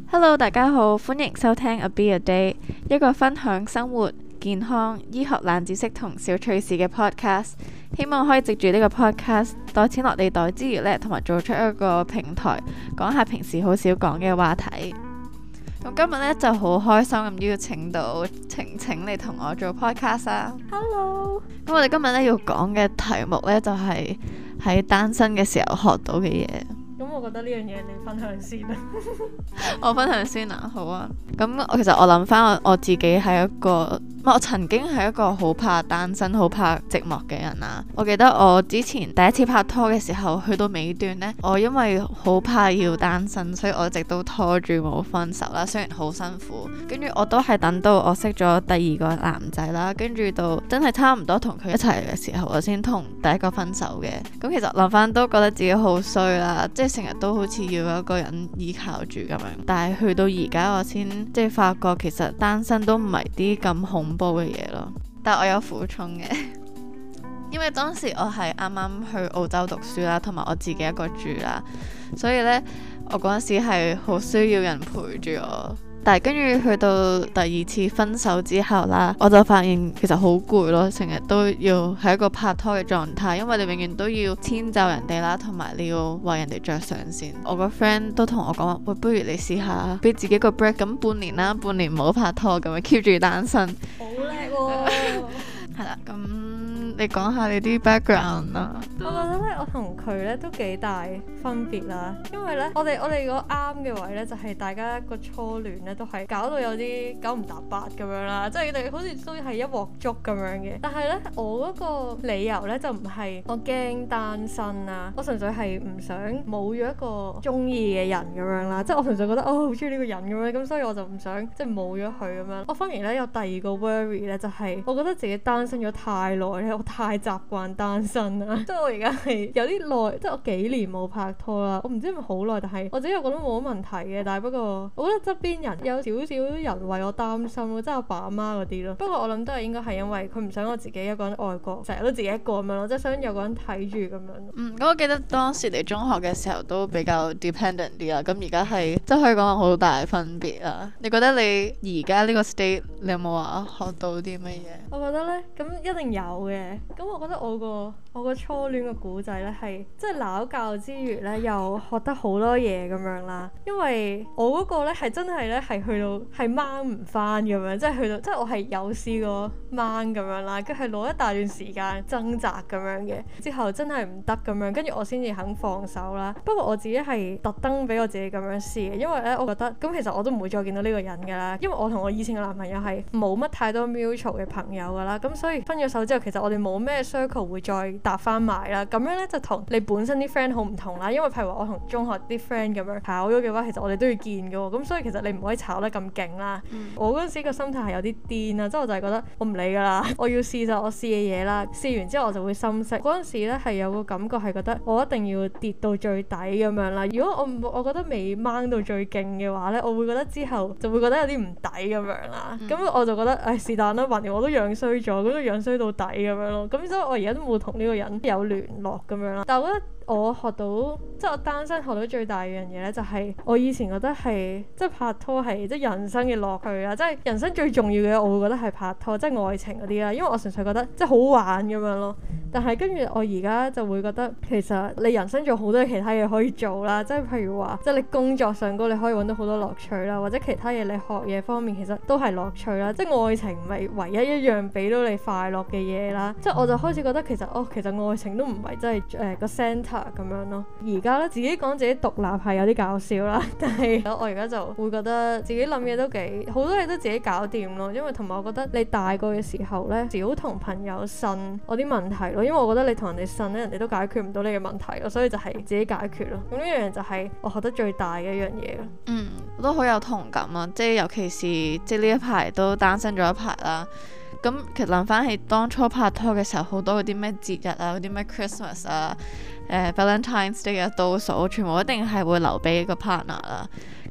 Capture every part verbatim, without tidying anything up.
Hello， 大家好，歡迎收聽 A Be A Day， 一個分享生活、健康、醫學冷知識同小趣事嘅 podcast。希望可以藉住呢個 podcast 袋錢落地袋之餘呢，同埋做出一個平台，講下平時好少講嘅話題。咁今日呢就好開心咁邀請到晴晴嚟同我做 podcast 啊。 Hello。 咁我哋今日呢要講嘅題目呢，就係喺單身嘅時候學到嘅嘢。 咁我覺得呢樣嘢你分享先啦。 我分享先啊，好啊。咁我其實我諗翻我我自己係一個，我曾經係一個好怕單身、好怕寂寞嘅人啊。我記得我之前第一次拍拖嘅時候，去到尾段呢，我因為好怕要單身，所以我一直都拖住冇分手啦。雖然好辛苦，跟住我都係等到我識咗第二個男仔啦，跟住到真係差唔多同佢一齊嘅時候，我先同第一個分手嘅。咁其實諗翻都覺得自己好衰啦，即係成日都好似要有一個人依靠住咁樣。但係去到而家我先即係發覺，其實單身都唔係啲咁恐怖嘅嘢咯。但係我有苦衷嘅，因為當時我係啱啱去澳洲讀書啦，同埋我自己一個住啦，所以呢，我嗰陣時係好需要人陪住我。但係跟住去到第二次分手之後啦，我就發現其實好攰咯，成日都要係一個拍拖嘅狀態，因為你永遠都要遷就人哋啦，同埋你要為人哋着想先。我個 friend 都同我講話，喂，不如你試下俾自己個 break，咁半年啦，半年唔好拍拖，咁樣 keep 住單身。 好叻喎！ 係啦，咁你講下你啲 background 啦。 我覺得咧，我同佢咧都幾大分別啦，因為咧，我哋我哋個啱嘅位咧，就係大家個初戀咧都係搞到有啲九唔搭八咁樣啦，即係你好似都係一鑊粥咁樣嘅。但係咧，我嗰個理由咧就唔係我驚單身啦，我純粹係唔想冇咗一個中意嘅人咁樣啦，即係我純粹覺得哦好中意呢個人咁樣，咁所以我就唔想即係冇咗佢咁樣。我反而咧有第二個 worry 咧，就係我覺得自己單身咗太耐咧，我太習慣單身啦，即係我而家係有啲耐，即係我幾年冇拍拖啦，我唔知係咪好耐，但係我自己又覺得冇乜問題嘅。但係不過我覺得側邊人有少少人為我擔心咯，即係阿爸阿媽嗰啲咯。不過我諗都係應該係因為佢唔想我自己一個人外國，成日都自己一個咁樣咯，即係想有個人睇住咁樣。 嗯，咁我記得當時你中學嘅時候都比較 dependent 啲啦，咁而家係即係可以講好大分別啦。你覺得你而家呢個 state 你有冇話學到啲乜嘢？ 我覺得咧，咁一定有嘅。咁我覺得我個我個初戀嘅故仔咧係即係鬧教之餘咧，又學得好多嘢咁樣啦。因為我嗰個咧係真係咧係去到係掹唔翻咁樣，即係去到即係我係有試過掹咁樣啦，跟住係攞一大段時間掙扎咁樣嘅，之後真係唔得咁樣，跟住我先至肯放手啦。不過我自己係特登俾我自己咁樣試嘅，因為咧我覺得咁其實我都唔會再見到呢個人㗎啦，因為我同我以前嘅男朋友係冇乜太多 mutual 嘅朋友㗎啦，咁所以分咗手之後，其實我哋冇咩 circle 會再搭翻埋啦。咁樣咧就同你本身啲 friend 好唔同啦，因為譬如話我同中學啲 friend 咁樣炒咗嘅話，其實我哋都要見㗎喎，咁所以其實你唔可以炒得咁勁啦。嗯、我嗰陣時個心態係有啲癲啊，即係我就係覺得我唔理㗎啦，我要試就我試嘅嘢啦，試完之後我就會心息。嗰陣時咧係有個感覺係覺得我一定要跌到最底咁樣啦。如果我我覺得未掹到最勁嘅話咧，我會覺得之後就會覺得有啲唔抵咁樣啦。咁、嗯、我就覺得唉是但啦，橫掂我都樣衰咗，咁都樣衰到底咁樣咯。咁所以我而家都冇同呢個人有聯絡咁樣啦。但係我覺得我學到即係我單身學到最大嘅樣嘢咧，就係我以前覺得係即係拍拖係即係人生嘅樂趣啊！即係人生最重要嘅，我會覺得係拍拖，即係愛情嗰啲啦。因為我純粹覺得即係好玩咁樣咯。但係跟住我而家就會覺得其實你人生仲有好多其他嘢可以做啦。即係譬如話，即係你工作上高你可以揾到好多樂趣啦，或者其他嘢你學嘢方面其實都係樂趣啦。即係愛情唔係唯一一樣俾到你快樂嘅嘢啦。即係我就開始覺得其實哦，其實愛情都唔係真係誒個 centre 咁樣咯。而家咧自己講自己獨立係有啲搞笑啦，但係我而家就會覺得自己諗嘢都幾好多嘢都自己搞掂咯。因為同埋我覺得你大個嘅時候咧，少同朋友呻我啲問題咯。因為我覺得你同人哋呻咧，人哋都解決唔到你嘅問題咯，所以就係自己解決咯。咁呢樣就係我學得最大嘅一樣嘢咯。嗯， 我都好有同感啊！即係尤其是即係呢一排都單身咗一排啦。咁其實諗翻起當初拍拖嘅時候，好多嗰啲咩節日啊，嗰啲咩 Christmas 啊、誒、呃、Valentine's Day 嘅倒數，全部一定係會留俾個 partner 啦。咁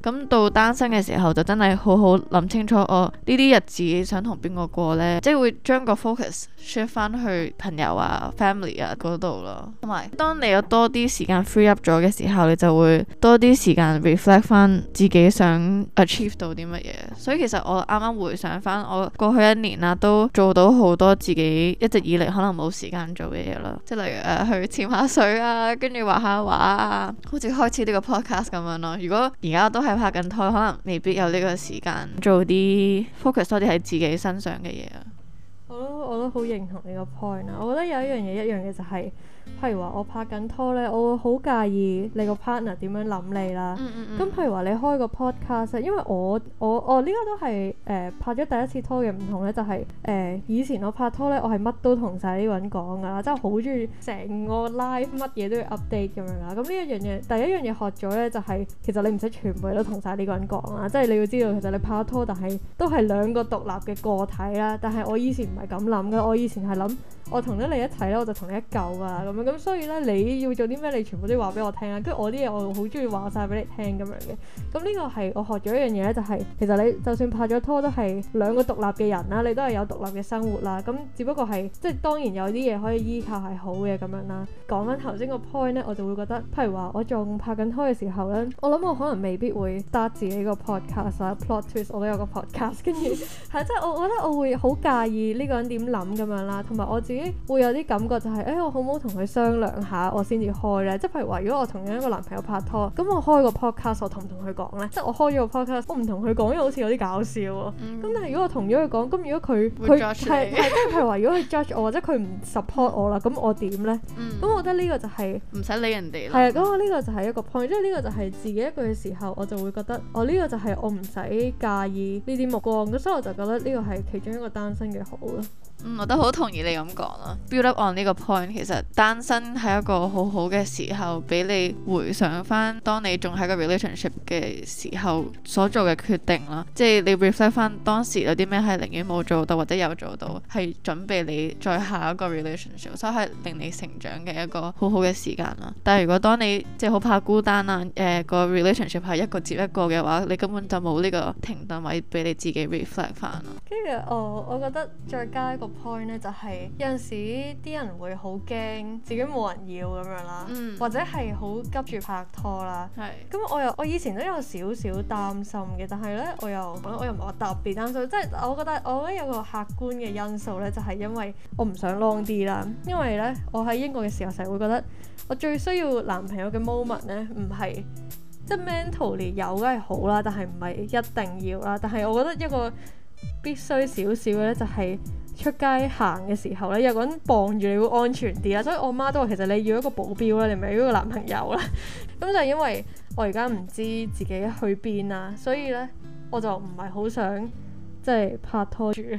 咁到單身嘅時候就真係好好諗清楚，我呢啲日子想同邊個過呢？即係會將個 focus shift 翻去朋友啊、family 啊嗰度咯。同埋當你有多啲時間 free up 咗嘅時候，你就會多啲時間 reflect 翻自己想 achieve 到啲乜嘢。所以其實我啱啱回想翻我過去一年啦，都做到好多自己一直以嚟可能冇時間做嘅嘢啦。即係例如誒、呃、去潛下水啊，跟住畫下畫啊，好似開始呢個 podcast 咁樣咯。如果而家都係拍緊拖，可能未必有呢個時間做啲 focus 多啲喺自己身上嘅嘢啊。 我都我都好認同呢個 point 啊！我覺得有一樣嘢一樣嘅就係、是，譬如話我拍緊拖呢，我會好介意你個 partner 點樣諗你啦。咁、嗯嗯、譬如話你開個 podcast，因為我我我呢、這個都係誒、呃、拍咗第一次拖嘅唔同呢，就係、是、誒、呃、以前我拍拖呢，我係乜都同晒呢個人講噶啦，即係好中意成個 live 乜嘢都要 update 咁樣啦。咁呢一樣嘢，第一樣嘢學咗呢，就係、是、其實你唔使全部都同晒呢個人講啦，即係你要知道其實你拍拖，但係都係兩個獨立嘅個體啦。但係我以前唔係咁諗嘅，我以前係諗我同咗你一齊咧，我就同你一嚿啊咁樣，咁所以咧你要做啲咩，你全部都要話俾我聽啊。跟住我啲嘢我好中意話晒俾你聽咁樣嘅。咁呢個係我學咗一樣嘢咧，就係、是、其實你就算拍咗拖都係兩個獨立嘅人啦，你都係有獨立嘅生活啦。咁只不過係即係當然有啲嘢可以依靠係好嘅咁樣啦。講翻頭先個 point 咧，我就會覺得，譬如話我仲拍緊拖嘅時候咧，我諗我可能未必會 start 自己個 podcast 啊 plot twist 我都有個 podcast， 跟住係即係我我覺得我會好介意呢個人點諗咁樣啦，同埋我自己會有啲感覺就係、是，誒、欸、我好唔好同佢商量下，我先至開咧？即係譬如話，如果我同一個男朋友拍拖，咁我開個 podcast， 我同唔同佢講咧？即係我開咗個 podcast，我唔同佢講，因為好似有啲搞笑喎。咁、嗯、但係如果我同咗佢講，咁如果佢佢係係即係譬如話，如果佢 judge 我或者佢唔 support 我啦，咁我點咧？咁、嗯、我覺得呢個就係唔使理人哋啦。 係啊，咁我呢個就係一個 point，即係呢個就係自己一個嘅時候，我就會覺得，我、哦、呢、這個就係我唔使介意呢啲目光，咁所以我就覺得呢個係其中一個單身嘅好咯。 嗯，我都好同意你咁講咯。Build up on 呢個 point， 其實單身係一個好好嘅時候，俾你回想翻當你仲喺個 relationship 嘅時候所做嘅決定啦。即係你 reflect 翻當時有啲咩係寧願冇做到或者有做到，係準備你再下一個 relationship，所以係令你成長嘅一個好好嘅時間啦。但係如果當你即係好怕孤單啊，誒、呃、個 relationship 係一個接一個嘅話，你根本就冇呢個停頓位俾你自己 reflect 翻咯。 跟住我我覺得再加一個 point 咧，就係、是、有陣時啲人會好驚自己冇人要咁樣啦，嗯、或者係好急住拍拖啦。咁是我又我以前都有少少擔心嘅，但係咧我又我又唔係話特別擔心，即、就、係、是、我覺得我覺得有個客觀嘅因素咧，就係、是、因為我唔想 long 啲啦。因為咧我喺英國嘅時候成日會覺得我最需要男朋友嘅 moment 咧，唔係即係 mentally 有梗係好啦，但係唔係一定要啦。但係我覺得一個必須少少嘅咧，就係出街行嘅時候咧，有個人傍住你會安全啲啦。所以我媽都話其實你要一個保鏢啦，你唔係要一個男朋友啦。咁就係因為我而家唔知自己去邊啦，所以咧我就唔係好想即係拍拖住。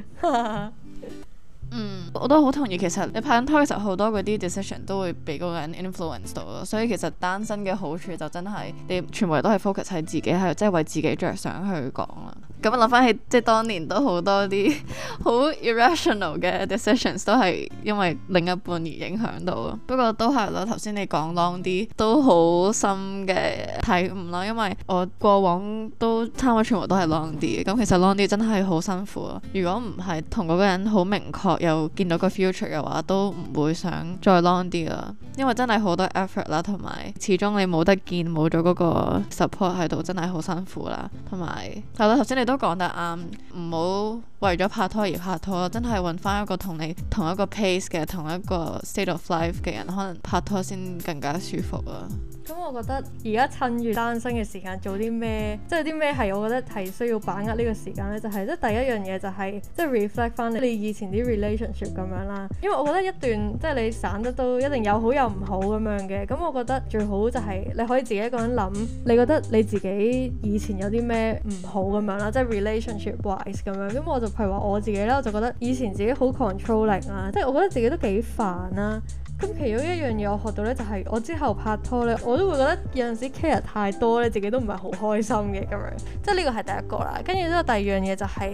嗯，我都好同意。其實你拍緊拖嘅時候，好多嗰啲 decision 都會俾嗰個人 influence 到咯。所以其實單身嘅好處就真係你全部人都係 focus 喺自己，係即係為自己着想去講啦。咁諗翻起，即係當年都好多啲好 irrational 嘅 decisions 都係因為另一半而影響到咯。不過都係咯，頭先你講 long 啲都好深嘅體悟啦。因為我過往都差唔多全部都係 long 啲嘅。咁其實 long 啲真係好辛苦咯。如果唔係同嗰個人好明確又見到個 future 嘅話，都唔會想再 long 啲啦。因為真係好多 effort 啦，同埋始終你冇得見，冇咗嗰個 support 喺度，真係好辛苦啦。同埋係咯，頭先你都講得啱，唔好為咗拍拖而拍拖，真係揾翻一個同你同一個 pace 嘅，同一個 state of life 嘅人，可能拍拖先更加舒服啊。 咁我覺得而家趁住單身嘅時間做啲咩，即係啲咩係我覺得係需要把握呢個時間呢？就係即係第一樣嘢就係即係 reflect 翻你以前啲 relationship 咁樣啦。因為我覺得一段即係你散得都一定有好有唔好咁樣嘅。咁我覺得最好就係你可以自己一個人諗，你覺得你自己以前有啲咩唔好咁樣啦，即係 relationship wise 咁樣。咁我就譬如話我自己咧，我就覺得以前自己好 controlling 啦，即係我覺得自己都幾煩啦。咁其中一樣嘢我學到咧，就係我之後拍拖咧，我都會覺得有陣時 care 太多咧，自己都唔係好開心嘅咁樣。即係呢個係第一個啦。跟住之後第二樣嘢就係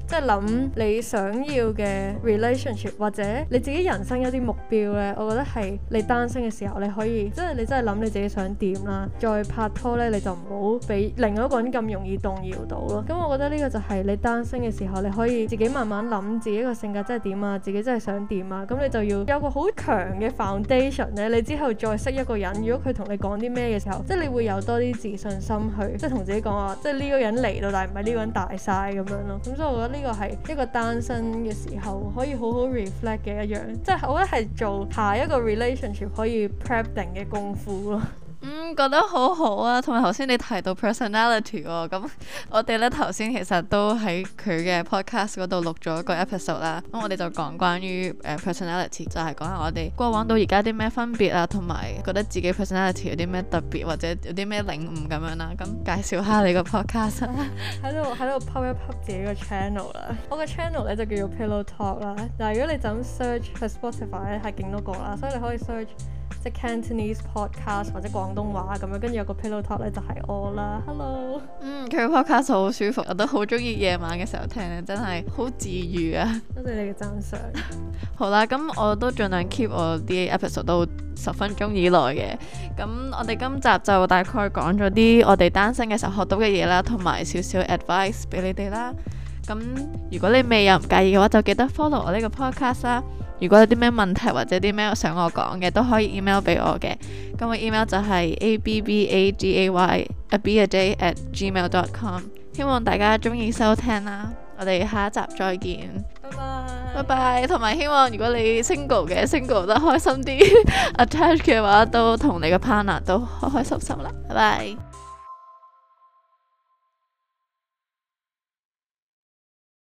即係諗你想要嘅 relationship 或者你自己人生一啲目標呢，我覺得係你單身嘅時候你可以，即係你真係諗你自己想點啦，再拍拖呢，你就唔好俾另外一個人咁容易動搖到咯。咁我覺得呢個就係你單身嘅時候，你可以自己慢慢諗自己個性格真係點啊，自己真係想點啊，咁你就要有個好強嘅 foundation 呢，你之後再識一個人，如果佢同你講啲咩嘅時候，即係你會有多啲自信心去，即係同自己講話，即係呢個人嚟到，但係唔係呢個人大晒咁樣咯。咁所以我覺得呢個係一個單身嘅時候可以好好 reflect 嘅一樣，即係我覺得係做下一個 relationship 可以 prep 定嘅功夫咯。 嗯，覺得好好啊，同埋頭先你提到 personality 喎、哦，咁我哋咧頭先其實都喺佢嘅 podcast 嗰度錄咗一個 episode 啦，咁我哋就講關於誒、呃、personality， 就係講下我哋過往到而家啲咩分別啊，同埋覺得自己 personality 有啲咩特別或者有啲咩領悟咁樣啦，咁介紹下你個 podcast 啊，喺度喺度 pop 一 pop 自己個 channel 啦，我個 channel 咧就叫做 Pillow Talk 啦，但係如果你就咁 search 喺 Spotify 咧係勁多個啦，所以你可以 search 即係 Cantonese podcast 或者廣東話咁樣，跟住有個 Pillow Talk 咧就係我啦 ，Hello。嗯，佢個 podcast 好舒服，我都好中意夜晚嘅時候聽咧，真係好治癒啊！ 多謝你嘅讚賞。 好啦，咁我都盡量 keep 我啲 episode 都十分鐘以內嘅。咁我哋今集就大概講咗啲我哋單身嘅時候學到嘅嘢啦，同埋少少 advice 俾你哋啦。咁如果你未有唔介意嘅話，就記得 follow 我呢個 podcast 啦。如果有啲咩問題或者啲咩想我講嘅，都可以 email 俾我嘅。咁我 email 就係 a b b a g a y a b a j at gmail dot com。希望大家中意收聽啦，我哋下一集再見， 拜拜， 拜拜。同埋希望如果你 single 嘅 single 得開心啲，attach 嘅話都同你嘅 partner 都開開心心啦，拜拜。